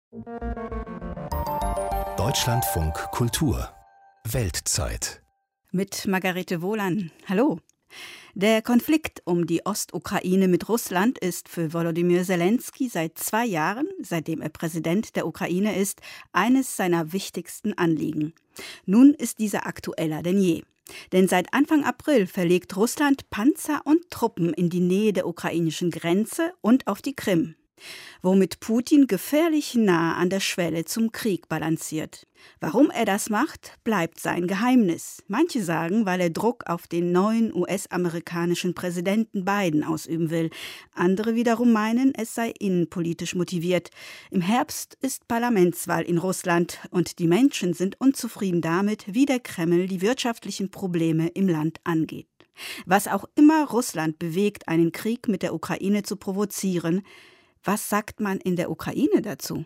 Deutschlandfunk Kultur Weltzeit mit Margarete Wohlan. Hallo. Der Konflikt um die Ostukraine mit Russland ist für Volodymyr Zelensky seit 2 Jahren, seitdem er Präsident der Ukraine ist, eines seiner wichtigsten Anliegen. Nun ist dieser aktueller denn je. Denn seit Anfang April verlegt Russland Panzer und Truppen in die Nähe der ukrainischen Grenze und auf die Krim, womit Putin gefährlich nah an der Schwelle zum Krieg balanciert. Warum er das macht, bleibt sein Geheimnis. Manche sagen, weil er Druck auf den neuen US-amerikanischen Präsidenten Biden ausüben will. Andere wiederum meinen, es sei innenpolitisch motiviert. Im Herbst ist Parlamentswahl in Russland und die Menschen sind unzufrieden damit, wie der Kreml die wirtschaftlichen Probleme im Land angeht. Was auch immer Russland bewegt, einen Krieg mit der Ukraine zu provozieren, was sagt man in der Ukraine dazu?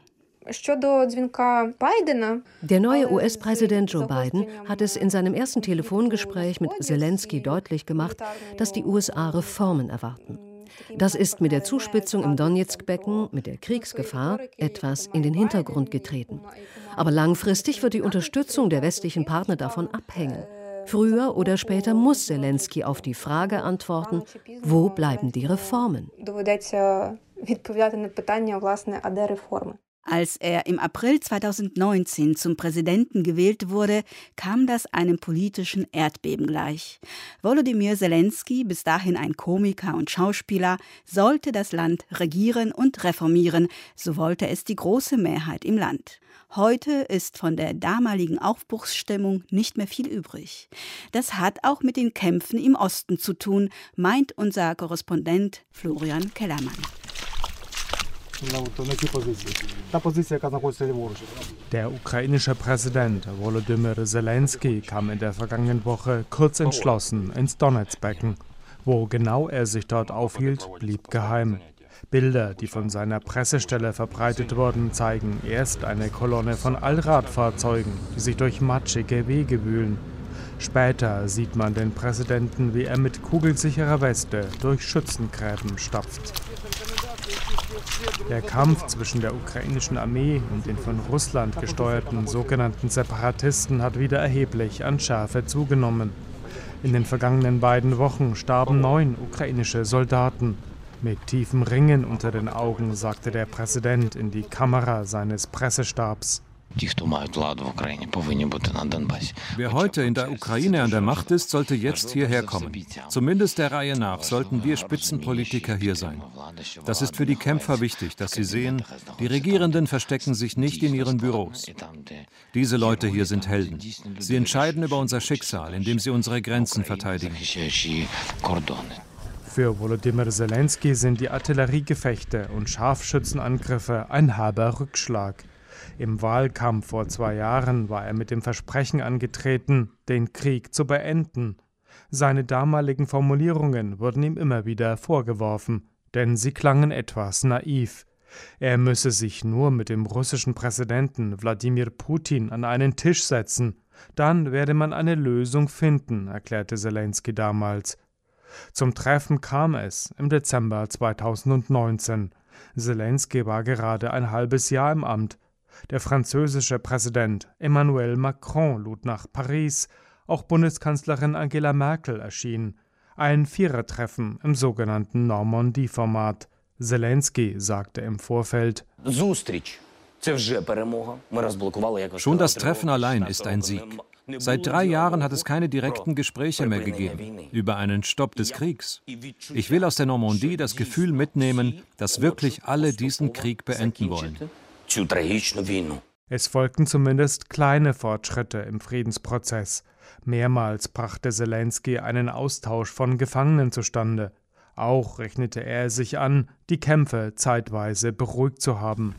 Der neue US-Präsident Joe Biden hat es in seinem ersten Telefongespräch mit Zelensky deutlich gemacht, dass die USA Reformen erwarten. Das ist mit der Zuspitzung im Donezk-Becken, mit der Kriegsgefahr, etwas in den Hintergrund getreten. Aber langfristig wird die Unterstützung der westlichen Partner davon abhängen. Früher oder später muss Zelensky auf die Frage antworten, wo bleiben die Reformen? Als er im April 2019 zum Präsidenten gewählt wurde, kam das einem politischen Erdbeben gleich. Volodymyr Zelensky, bis dahin ein Komiker und Schauspieler, sollte das Land regieren und reformieren, so wollte es die große Mehrheit im Land. Heute ist von der damaligen Aufbruchsstimmung nicht mehr viel übrig. Das hat auch mit den Kämpfen im Osten zu tun, meint unser Korrespondent Florian Kellermann. Der ukrainische Präsident Volodymyr Zelensky kam in der vergangenen Woche kurz entschlossen ins Donezk-Becken. Wo genau er sich dort aufhielt, blieb geheim. Bilder, die von seiner Pressestelle verbreitet wurden, zeigen erst eine Kolonne von Allradfahrzeugen, die sich durch matschige Wege wühlen. Später sieht man den Präsidenten, wie er mit kugelsicherer Weste durch Schützengräben stapft. Der Kampf zwischen der ukrainischen Armee und den von Russland gesteuerten sogenannten Separatisten hat wieder erheblich an Schärfe zugenommen. In den vergangenen 2 Wochen starben 9 ukrainische Soldaten. Mit tiefen Ringen unter den Augen sagte der Präsident in die Kamera seines Pressestabs. Wer heute in der Ukraine an der Macht ist, sollte jetzt hierher kommen. Zumindest der Reihe nach sollten wir Spitzenpolitiker hier sein. Das ist für die Kämpfer wichtig, dass sie sehen, die Regierenden verstecken sich nicht in ihren Büros. Diese Leute hier sind Helden. Sie entscheiden über unser Schicksal, indem sie unsere Grenzen verteidigen. Für Volodymyr Zelensky sind die Artilleriegefechte und Scharfschützenangriffe ein herber Rückschlag. Im Wahlkampf vor 2 Jahren war er mit dem Versprechen angetreten, den Krieg zu beenden. Seine damaligen Formulierungen wurden ihm immer wieder vorgeworfen, denn sie klangen etwas naiv. Er müsse sich nur mit dem russischen Präsidenten Wladimir Putin an einen Tisch setzen. Dann werde man eine Lösung finden, erklärte Zelensky damals. Zum Treffen kam es im Dezember 2019. Zelensky war gerade ein halbes Jahr im Amt. Der französische Präsident Emmanuel Macron lud nach Paris. Auch Bundeskanzlerin Angela Merkel erschien. Ein Vierertreffen im sogenannten Normandie-Format. Zelensky sagte im Vorfeld: Schon das Treffen allein ist ein Sieg. Seit 3 Jahren hat es keine direkten Gespräche mehr gegeben über einen Stopp des Kriegs. Ich will aus der Normandie das Gefühl mitnehmen, dass wirklich alle diesen Krieg beenden wollen. Es folgten zumindest kleine Fortschritte im Friedensprozess. Mehrmals brachte Zelensky einen Austausch von Gefangenen zustande. Auch rechnete er sich an, die Kämpfe zeitweise beruhigt zu haben.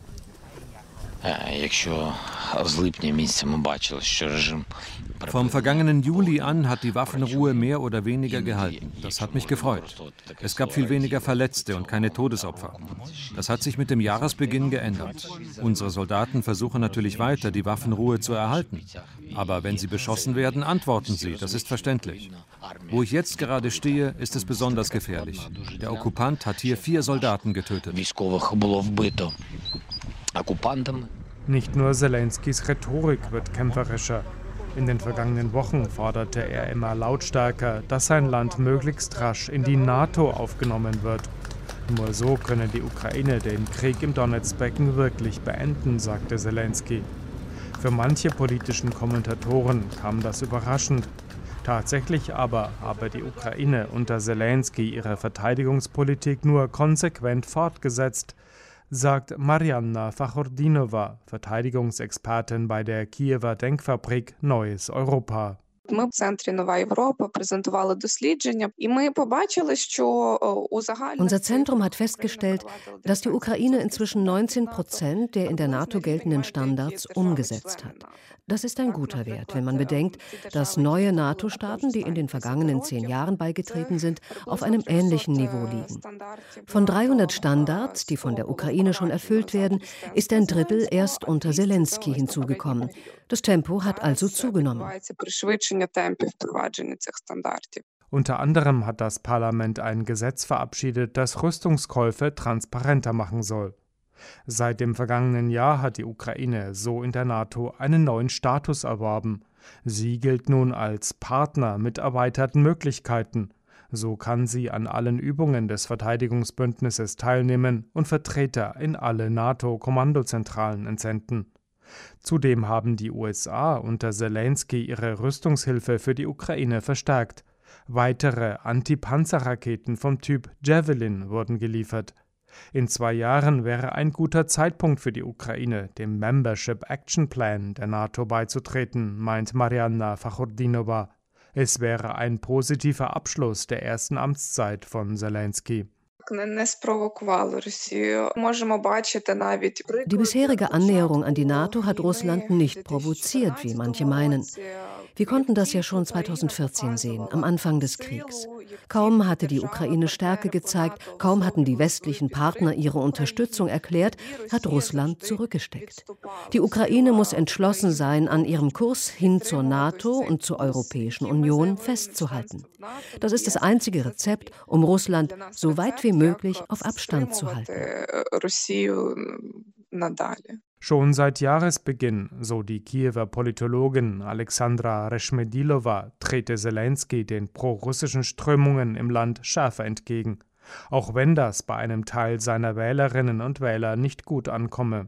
Vom vergangenen Juli an hat die Waffenruhe mehr oder weniger gehalten. Das hat mich gefreut. Es gab viel weniger Verletzte und keine Todesopfer. Das hat sich mit dem Jahresbeginn geändert. Unsere Soldaten versuchen natürlich weiter, die Waffenruhe zu erhalten. Aber wenn sie beschossen werden, antworten sie. Das ist verständlich. Wo ich jetzt gerade stehe, ist es besonders gefährlich. Der Okkupant hat hier 4 Soldaten getötet. Nicht nur Selenskys Rhetorik wird kämpferischer. In den vergangenen Wochen forderte er immer lautstärker, dass sein Land möglichst rasch in die NATO aufgenommen wird. Nur so könne die Ukraine den Krieg im Donezbecken wirklich beenden, sagte Selensky. Für manche politischen Kommentatoren kam das überraschend. Tatsächlich aber habe die Ukraine unter Selensky ihre Verteidigungspolitik nur konsequent fortgesetzt, sagt Marianna Fachordinova, Verteidigungsexpertin bei der Kiewer Denkfabrik Neues Europa. Unser Zentrum hat festgestellt, dass die Ukraine inzwischen 19% der in der NATO geltenden Standards umgesetzt hat. Das ist ein guter Wert, wenn man bedenkt, dass neue NATO-Staaten, die in den vergangenen 10 Jahren beigetreten sind, auf einem ähnlichen Niveau liegen. Von 300 Standards, die von der Ukraine schon erfüllt werden, ist ein Drittel erst unter Selensky hinzugekommen. Das Tempo hat also zugenommen. Unter anderem hat das Parlament ein Gesetz verabschiedet, das Rüstungskäufe transparenter machen soll. Seit dem vergangenen Jahr hat die Ukraine so in der NATO einen neuen Status erworben. Sie gilt nun als Partner mit erweiterten Möglichkeiten. So kann sie an allen Übungen des Verteidigungsbündnisses teilnehmen und Vertreter in alle NATO-Kommandozentralen entsenden. Zudem haben die USA unter Selensky ihre Rüstungshilfe für die Ukraine verstärkt. Weitere Anti-Panzer-Raketen vom Typ Javelin wurden geliefert. In 2 Jahren wäre ein guter Zeitpunkt für die Ukraine, dem Membership Action Plan der NATO beizutreten, meint Marianna Fachordinova. Es wäre ein positiver Abschluss der ersten Amtszeit von Selensky. Die bisherige Annäherung an die NATO hat Russland nicht provoziert, wie manche meinen. Wir konnten das ja schon 2014 sehen, am Anfang des Kriegs. Kaum hatte die Ukraine Stärke gezeigt, kaum hatten die westlichen Partner ihre Unterstützung erklärt, hat Russland zurückgesteckt. Die Ukraine muss entschlossen sein, an ihrem Kurs hin zur NATO und zur Europäischen Union festzuhalten. Das ist das einzige Rezept, um Russland so weit wie möglich auf Abstand zu halten. Schon seit Jahresbeginn, so die Kiewer Politologin Alexandra Reshmedilova, trete Selensky den prorussischen Strömungen im Land schärfer entgegen, auch wenn das bei einem Teil seiner Wählerinnen und Wähler nicht gut ankomme.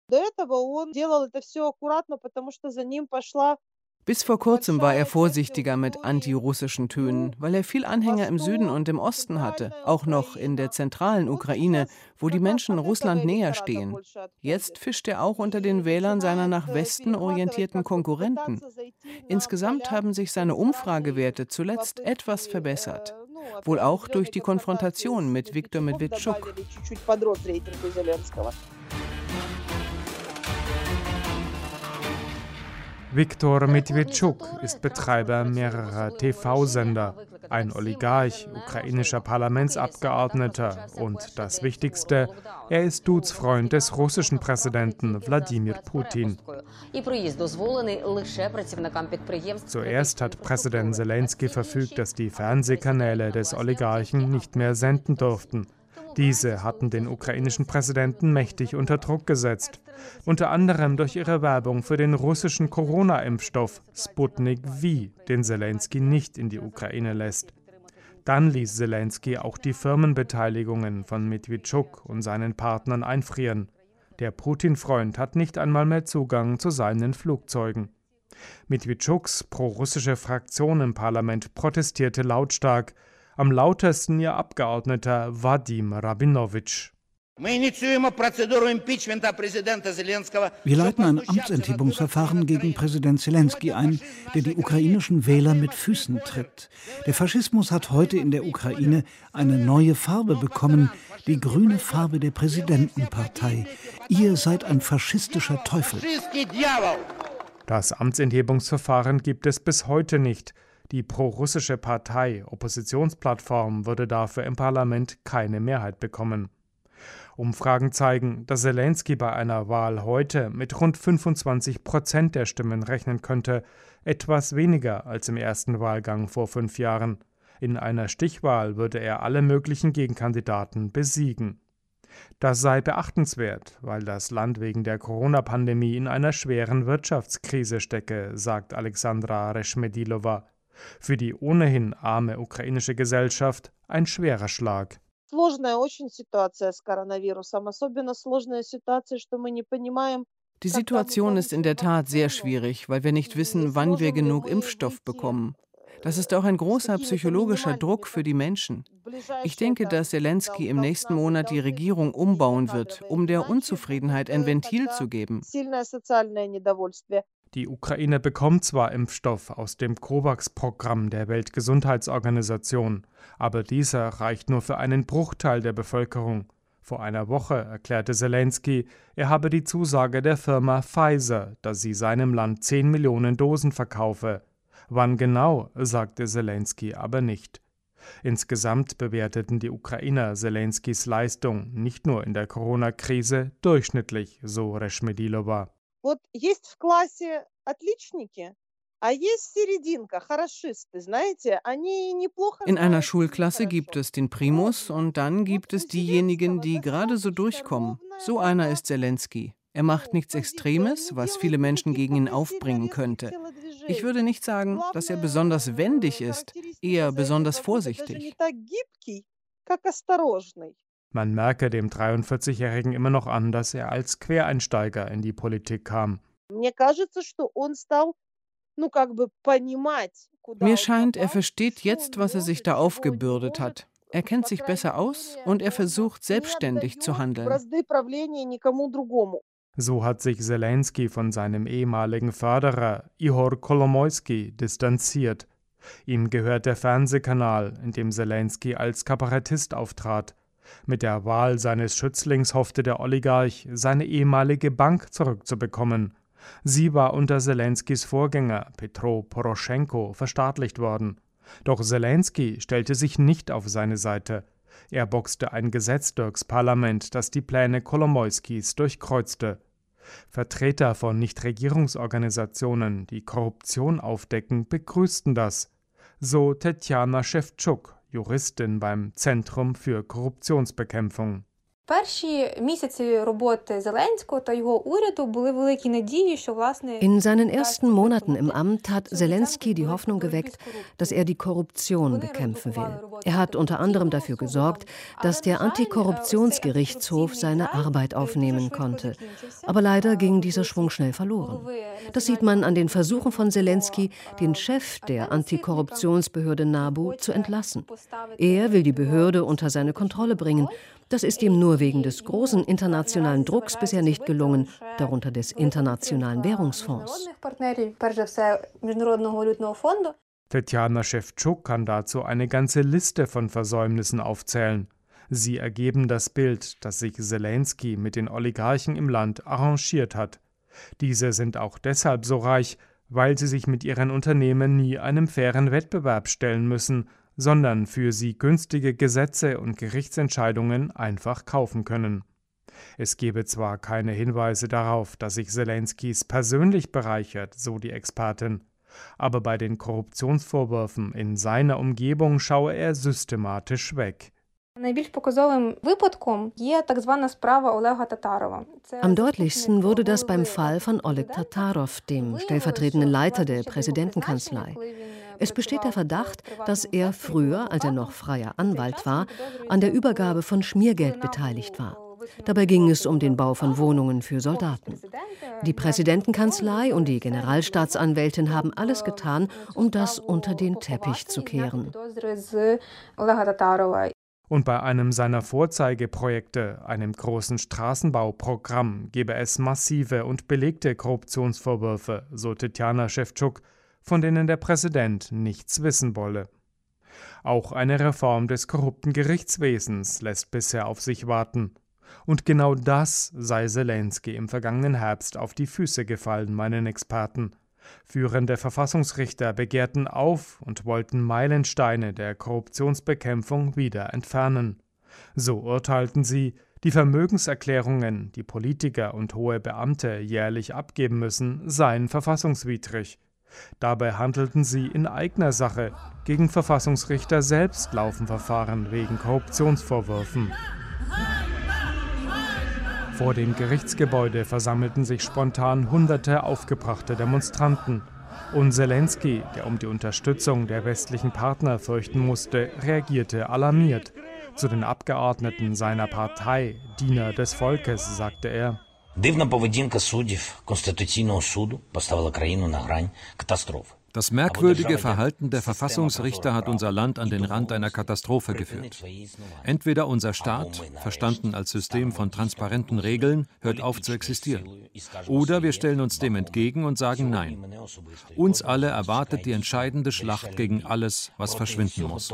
Bis vor kurzem war er vorsichtiger mit antirussischen Tönen, weil er viel Anhänger im Süden und im Osten hatte, auch noch in der zentralen Ukraine, wo die Menschen Russland näher stehen. Jetzt fischt er auch unter den Wählern seiner nach Westen orientierten Konkurrenten. Insgesamt haben sich seine Umfragewerte zuletzt etwas verbessert, wohl auch durch die Konfrontation mit Viktor Medvedchuk. Viktor Medvedchuk ist Betreiber mehrerer TV-Sender, ein Oligarch, ukrainischer Parlamentsabgeordneter und das Wichtigste, er ist Duzfreund des russischen Präsidenten Wladimir Putin. Zuerst hat Präsident Selensky verfügt, dass die Fernsehkanäle des Oligarchen nicht mehr senden durften. Diese hatten den ukrainischen Präsidenten mächtig unter Druck gesetzt, unter anderem durch ihre Werbung für den russischen Corona-Impfstoff Sputnik V, den Selensky nicht in die Ukraine lässt. Dann ließ Selensky auch die Firmenbeteiligungen von Medvedchuk und seinen Partnern einfrieren. Der Putin-Freund hat nicht einmal mehr Zugang zu seinen Flugzeugen. Medvedchuks prorussische Fraktion im Parlament protestierte lautstark, am lautesten ihr Abgeordneter Wadim Rabinowitsch. Wir leiten ein Amtsenthebungsverfahren gegen Präsident Selensky ein, der die ukrainischen Wähler mit Füßen tritt. Der Faschismus hat heute in der Ukraine eine neue Farbe bekommen, die grüne Farbe der Präsidentenpartei. Ihr seid ein faschistischer Teufel. Das Amtsenthebungsverfahren gibt es bis heute nicht. Die prorussische Partei Oppositionsplattform würde dafür im Parlament keine Mehrheit bekommen. Umfragen zeigen, dass Selensky bei einer Wahl heute mit rund 25% der Stimmen rechnen könnte, etwas weniger als im ersten Wahlgang vor 5 Jahren. In einer Stichwahl würde er alle möglichen Gegenkandidaten besiegen. Das sei beachtenswert, weil das Land wegen der Corona-Pandemie in einer schweren Wirtschaftskrise stecke, sagt Alexandra Reshmedilova. Für die ohnehin arme ukrainische Gesellschaft ein schwerer Schlag. Die Situation ist in der Tat sehr schwierig, weil wir nicht wissen, wann wir genug Impfstoff bekommen. Das ist auch ein großer psychologischer Druck für die Menschen. Ich denke, dass Selenskyj im nächsten Monat die Regierung umbauen wird, um der Unzufriedenheit ein Ventil zu geben. Die Ukraine bekommt zwar Impfstoff aus dem COVAX-Programm der Weltgesundheitsorganisation, aber dieser reicht nur für einen Bruchteil der Bevölkerung. Vor einer Woche erklärte Selenskyj, er habe die Zusage der Firma Pfizer, dass sie seinem Land 10 Millionen Dosen verkaufe. Wann genau, sagte Selenskyj aber nicht. Insgesamt bewerteten die Ukrainer Selenskys Leistung nicht nur in der Corona-Krise durchschnittlich, so Reshmedilova. In einer Schulklasse gibt es den Primus und dann gibt es diejenigen, die gerade so durchkommen. So einer ist Selenskyj. Er macht nichts Extremes, was viele Menschen gegen ihn aufbringen könnte. Ich würde nicht sagen, dass er besonders wendig ist, eher besonders vorsichtig. Man merke dem 43-Jährigen immer noch an, dass er als Quereinsteiger in die Politik kam. Mir scheint, er versteht jetzt, was er sich da aufgebürdet hat. Er kennt sich besser aus und er versucht, selbstständig zu handeln. So hat sich Selenskyj von seinem ehemaligen Förderer Ihor Kolomoisky distanziert. Ihm gehört der Fernsehkanal, in dem Selenskyj als Kabarettist auftrat. Mit der Wahl seines Schützlings hoffte der Oligarch, seine ehemalige Bank zurückzubekommen. Sie war unter Selenskys Vorgänger Petro Poroschenko verstaatlicht worden. Doch Selenskyj stellte sich nicht auf seine Seite. Er boxte ein Gesetz durchs Parlament, das die Pläne Kolomoiskys durchkreuzte. Vertreter von Nichtregierungsorganisationen, die Korruption aufdecken, begrüßten das. So Tetjana Schewtschuk, Juristin beim Zentrum für Korruptionsbekämpfung. In seinen ersten Monaten im Amt hat Selenskyj die Hoffnung geweckt, dass er die Korruption bekämpfen will. Er hat unter anderem dafür gesorgt, dass der Antikorruptionsgerichtshof seine Arbeit aufnehmen konnte. Aber leider ging dieser Schwung schnell verloren. Das sieht man an den Versuchen von Selenskyj, den Chef der Antikorruptionsbehörde NABU zu entlassen. Er will die Behörde unter seine Kontrolle bringen. Das ist ihm nur wegen des großen internationalen Drucks bisher nicht gelungen, darunter des Internationalen Währungsfonds. Tetjana Schewtschuk kann dazu eine ganze Liste von Versäumnissen aufzählen. Sie ergeben das Bild, dass sich Selenskyj mit den Oligarchen im Land arrangiert hat. Diese sind auch deshalb so reich, weil sie sich mit ihren Unternehmen nie einem fairen Wettbewerb stellen müssen, sondern für sie günstige Gesetze und Gerichtsentscheidungen einfach kaufen können. Es gebe zwar keine Hinweise darauf, dass sich Selenskys persönlich bereichert, so die Expertin, aber bei den Korruptionsvorwürfen in seiner Umgebung schaue er systematisch weg. Am deutlichsten wurde das beim Fall von Oleg Tatarow, dem stellvertretenden Leiter der Präsidentenkanzlei. Es besteht der Verdacht, dass er früher, als er noch freier Anwalt war, an der Übergabe von Schmiergeld beteiligt war. Dabei ging es um den Bau von Wohnungen für Soldaten. Die Präsidentenkanzlei und die Generalstaatsanwältin haben alles getan, um das unter den Teppich zu kehren. Und bei einem seiner Vorzeigeprojekte, einem großen Straßenbauprogramm, gebe es massive und belegte Korruptionsvorwürfe, so Tetjana Schewtschuk, von denen der Präsident nichts wissen wolle. Auch eine Reform des korrupten Gerichtswesens lässt bisher auf sich warten. Und genau das sei Selenskyj im vergangenen Herbst auf die Füße gefallen, meinen Experten. Führende Verfassungsrichter begehrten auf und wollten Meilensteine der Korruptionsbekämpfung wieder entfernen. So urteilten sie, die Vermögenserklärungen, die Politiker und hohe Beamte jährlich abgeben müssen, seien verfassungswidrig. Dabei handelten sie in eigener Sache. Gegen Verfassungsrichter selbst laufen Verfahren wegen Korruptionsvorwürfen. Vor dem Gerichtsgebäude versammelten sich spontan hunderte aufgebrachte Demonstranten. Und Selensky, der um die Unterstützung der westlichen Partner fürchten musste, reagierte alarmiert. Zu den Abgeordneten seiner Partei, Diener des Volkes, sagte er: Das merkwürdige Verhalten der Verfassungsrichter hat unser Land an den Rand einer Katastrophe geführt. Entweder unser Staat, verstanden als System von transparenten Regeln, hört auf zu existieren. Oder wir stellen uns dem entgegen und sagen Nein. Uns alle erwartet die entscheidende Schlacht gegen alles, was verschwinden muss.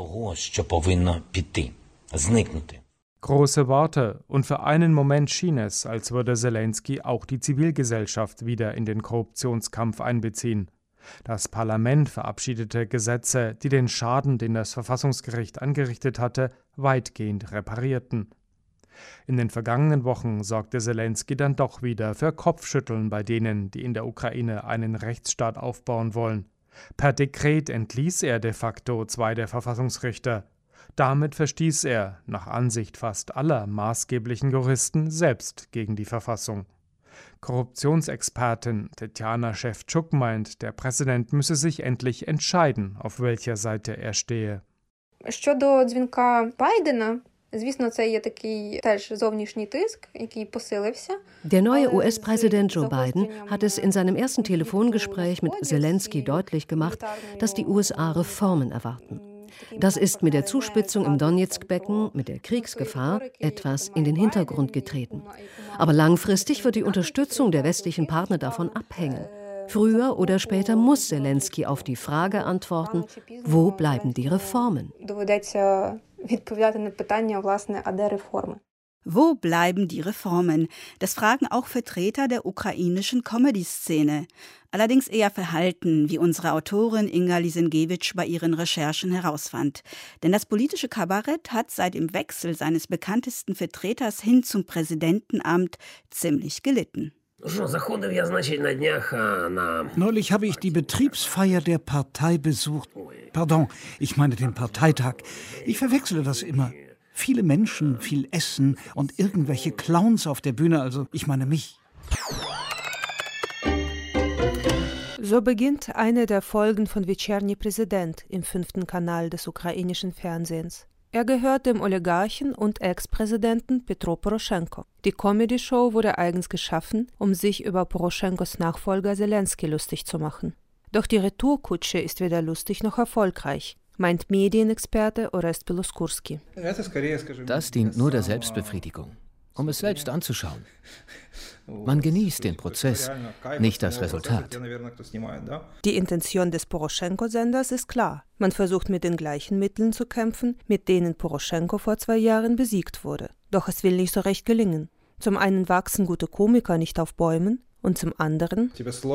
Große Worte, und für einen Moment schien es, als würde Selensky auch die Zivilgesellschaft wieder in den Korruptionskampf einbeziehen. Das Parlament verabschiedete Gesetze, die den Schaden, den das Verfassungsgericht angerichtet hatte, weitgehend reparierten. In den vergangenen Wochen sorgte Selensky dann doch wieder für Kopfschütteln bei denen, die in der Ukraine einen Rechtsstaat aufbauen wollen. Per Dekret entließ er de facto 2 der Verfassungsrichter. Damit verstieß er, nach Ansicht fast aller maßgeblichen Juristen, selbst gegen die Verfassung. Korruptionsexpertin Tetjana Schewtschuk meint, der Präsident müsse sich endlich entscheiden, auf welcher Seite er stehe. Щодо дзвінка Байдена, звісно, це є такий теж зовнішній тиск, який посилився. Der neue US-Präsident Joe Biden hat es in seinem ersten Telefongespräch mit Selensky deutlich gemacht, dass die USA Reformen erwarten. Das ist mit der Zuspitzung im Donezk-Becken, mit der Kriegsgefahr, etwas in den Hintergrund getreten. Aber langfristig wird die Unterstützung der westlichen Partner davon abhängen. Früher oder später muss Selensky auf die Frage antworten, wo bleiben die Reformen? Wo bleiben die Reformen? Das fragen auch Vertreter der ukrainischen Comedy-Szene. Allerdings eher verhalten, wie unsere Autorin Inga Lisenkiewicz bei ihren Recherchen herausfand. Denn das politische Kabarett hat seit dem Wechsel seines bekanntesten Vertreters hin zum Präsidentenamt ziemlich gelitten. Neulich habe ich die Betriebsfeier der Partei besucht. Pardon, ich meine den Parteitag. Ich verwechsle das immer. Viele Menschen, viel Essen und irgendwelche Clowns auf der Bühne, also ich meine mich. So beginnt eine der Folgen von Вечерний Präsident im 5. Kanal des ukrainischen Fernsehens. Er gehört dem Oligarchen und Ex-Präsidenten Petro Poroschenko. Die Comedy-Show wurde eigens geschaffen, um sich über Poroschenkos Nachfolger Selensky lustig zu machen. Doch die Retourkutsche ist weder lustig noch erfolgreich, meint Medienexperte Orest Piloskurski. Das dient nur der Selbstbefriedigung, um es selbst anzuschauen. Man genießt den Prozess, nicht das Resultat. Die Intention des Poroschenko-Senders ist klar. Man versucht mit den gleichen Mitteln zu kämpfen, mit denen Poroschenko vor 2 Jahren besiegt wurde. Doch es will nicht so recht gelingen. Zum einen wachsen gute Komiker nicht auf Bäumen und zum anderen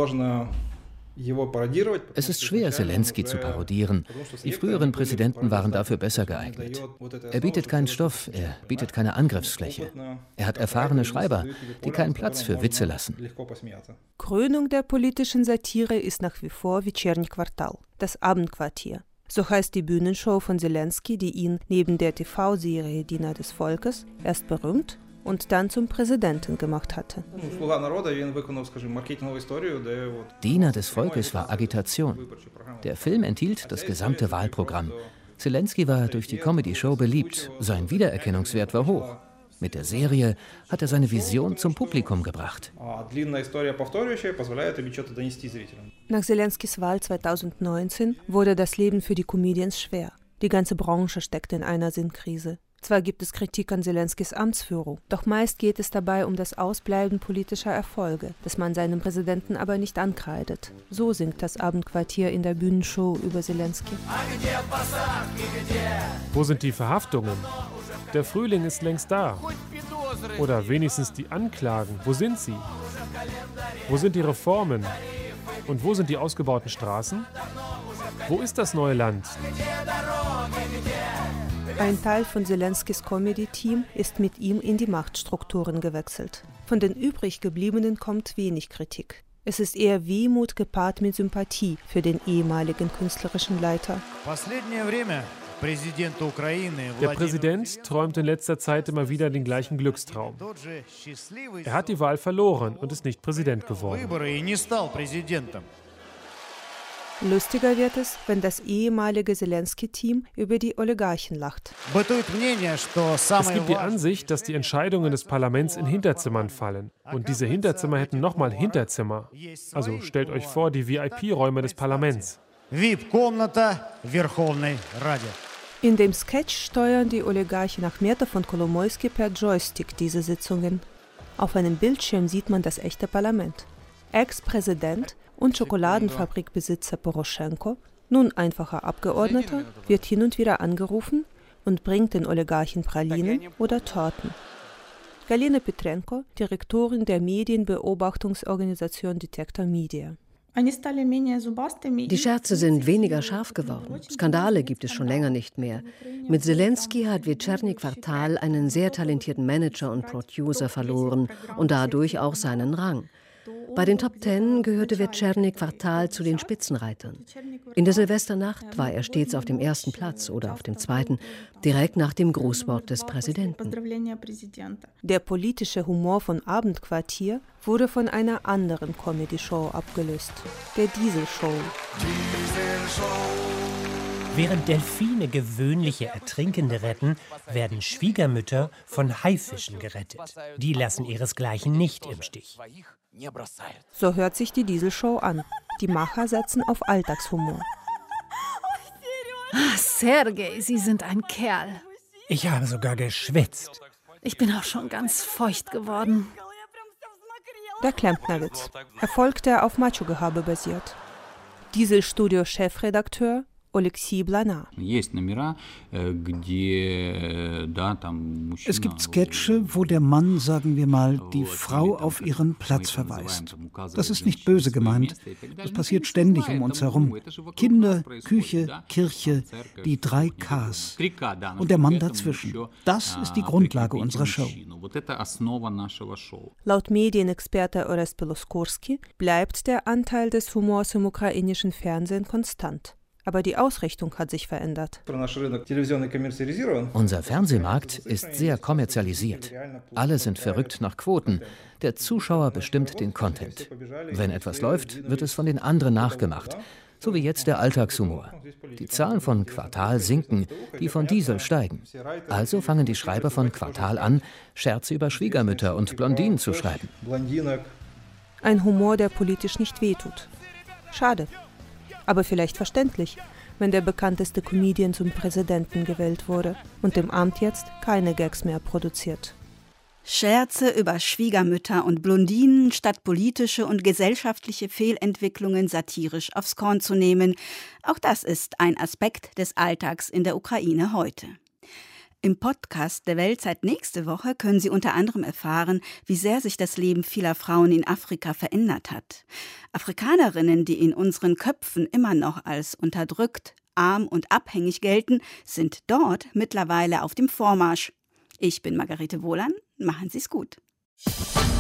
Es ist schwer, Selensky zu parodieren. Die früheren Präsidenten waren dafür besser geeignet. Er bietet keinen Stoff, er bietet keine Angriffsfläche. Er hat erfahrene Schreiber, die keinen Platz für Witze lassen. Krönung der politischen Satire ist nach wie vor Вечерний Квартал, das Abendquartier. So heißt die Bühnenshow von Selensky, die ihn neben der TV-Serie Diener des Volkes erst berühmt und dann zum Präsidenten gemacht hatte. Diener des Volkes war Agitation. Der Film enthielt das gesamte Wahlprogramm. Selensky war durch die Comedy-Show beliebt, sein Wiedererkennungswert war hoch. Mit der Serie hat er seine Vision zum Publikum gebracht. Nach Selenskys Wahl 2019 wurde das Leben für die Comedians schwer. Die ganze Branche steckt in einer Sinnkrise. Zwar gibt es Kritik an Selenskys Amtsführung, doch meist geht es dabei um das Ausbleiben politischer Erfolge, das man seinem Präsidenten aber nicht ankreidet. So singt das Abendquartier in der Bühnenshow über Selensky. Wo sind die Verhaftungen? Der Frühling ist längst da. Oder wenigstens die Anklagen. Wo sind sie? Wo sind die Reformen? Und wo sind die ausgebauten Straßen? Wo ist das neue Land? Ein Teil von Selenskys Comedy-Team ist mit ihm in die Machtstrukturen gewechselt. Von den übrig gebliebenen kommt wenig Kritik. Es ist eher Wehmut gepaart mit Sympathie für den ehemaligen künstlerischen Leiter. Der Präsident träumt in letzter Zeit immer wieder den gleichen Glückstraum. Er hat die Wahl verloren und ist nicht Präsident geworden. Lustiger wird es, wenn das ehemalige Zelensky-Team über die Oligarchen lacht. Es gibt die Ansicht, dass die Entscheidungen des Parlaments in Hinterzimmern fallen. Und diese Hinterzimmer hätten nochmal Hinterzimmer. Also stellt euch vor, die VIP-Räume des Parlaments. In dem Sketch steuern die Oligarchen Achmetow und Kolomoisky per Joystick diese Sitzungen. Auf einem Bildschirm sieht man das echte Parlament. Ex-Präsident und Schokoladenfabrikbesitzer Poroschenko, nun einfacher Abgeordneter, wird hin und wieder angerufen und bringt den Oligarchen Pralinen oder Torten. Galina Petrenko, Direktorin der Medienbeobachtungsorganisation Detektor Media. Die Scherze sind weniger scharf geworden. Skandale gibt es schon länger nicht mehr. Mit Zelensky hat Вечерний Kvartal einen sehr talentierten Manager und Producer verloren und dadurch auch seinen Rang. Bei den Top 10 gehörte Вечерний Kvartal zu den Spitzenreitern. In der Silvesternacht war er stets auf dem ersten Platz oder auf dem zweiten, direkt nach dem Grußwort des Präsidenten. Der politische Humor von Abendquartier wurde von einer anderen Comedy-Show abgelöst, der Diesel-Show. Während Delfine gewöhnliche Ertrinkende retten, werden Schwiegermütter von Haifischen gerettet. Die lassen ihresgleichen nicht im Stich. So hört sich die Diesel-Show an. Die Macher setzen auf Alltagshumor. Sergej, Sie sind ein Kerl. Ich habe sogar geschwitzt. Ich bin auch schon ganz feucht geworden. Der Klempnerwitz. Erfolg, der auf Macho-Gehabe basiert. Diesel-Studio-Chefredakteur Oleksiy Blana. Es gibt Sketche, wo der Mann, sagen wir mal, die Frau auf ihren Platz verweist. Das ist nicht böse gemeint. Das passiert ständig um uns herum. Kinder, Küche, Kirche, die 3 Ks. Und der Mann dazwischen. Das ist die Grundlage unserer Show. Laut Medienexperte Orest Peloskorski bleibt der Anteil des Humors im ukrainischen Fernsehen konstant. Aber die Ausrichtung hat sich verändert. Unser Fernsehmarkt ist sehr kommerzialisiert. Alle sind verrückt nach Quoten. Der Zuschauer bestimmt den Content. Wenn etwas läuft, wird es von den anderen nachgemacht. So wie jetzt der Alltagshumor. Die Zahlen von Kvartal sinken, die von Diesel steigen. Also fangen die Schreiber von Kvartal an, Scherze über Schwiegermütter und Blondinen zu schreiben. Ein Humor, der politisch nicht wehtut. Schade. Aber vielleicht verständlich, wenn der bekannteste Comedian zum Präsidenten gewählt wurde und im Amt jetzt keine Gags mehr produziert. Scherze über Schwiegermütter und Blondinen statt politische und gesellschaftliche Fehlentwicklungen satirisch aufs Korn zu nehmen, auch das ist ein Aspekt des Alltags in der Ukraine heute. Im Podcast der Weltzeit nächste Woche können Sie unter anderem erfahren, wie sehr sich das Leben vieler Frauen in Afrika verändert hat. Afrikanerinnen, die in unseren Köpfen immer noch als unterdrückt, arm und abhängig gelten, sind dort mittlerweile auf dem Vormarsch. Ich bin Margarete Wohlan, machen Sie es gut.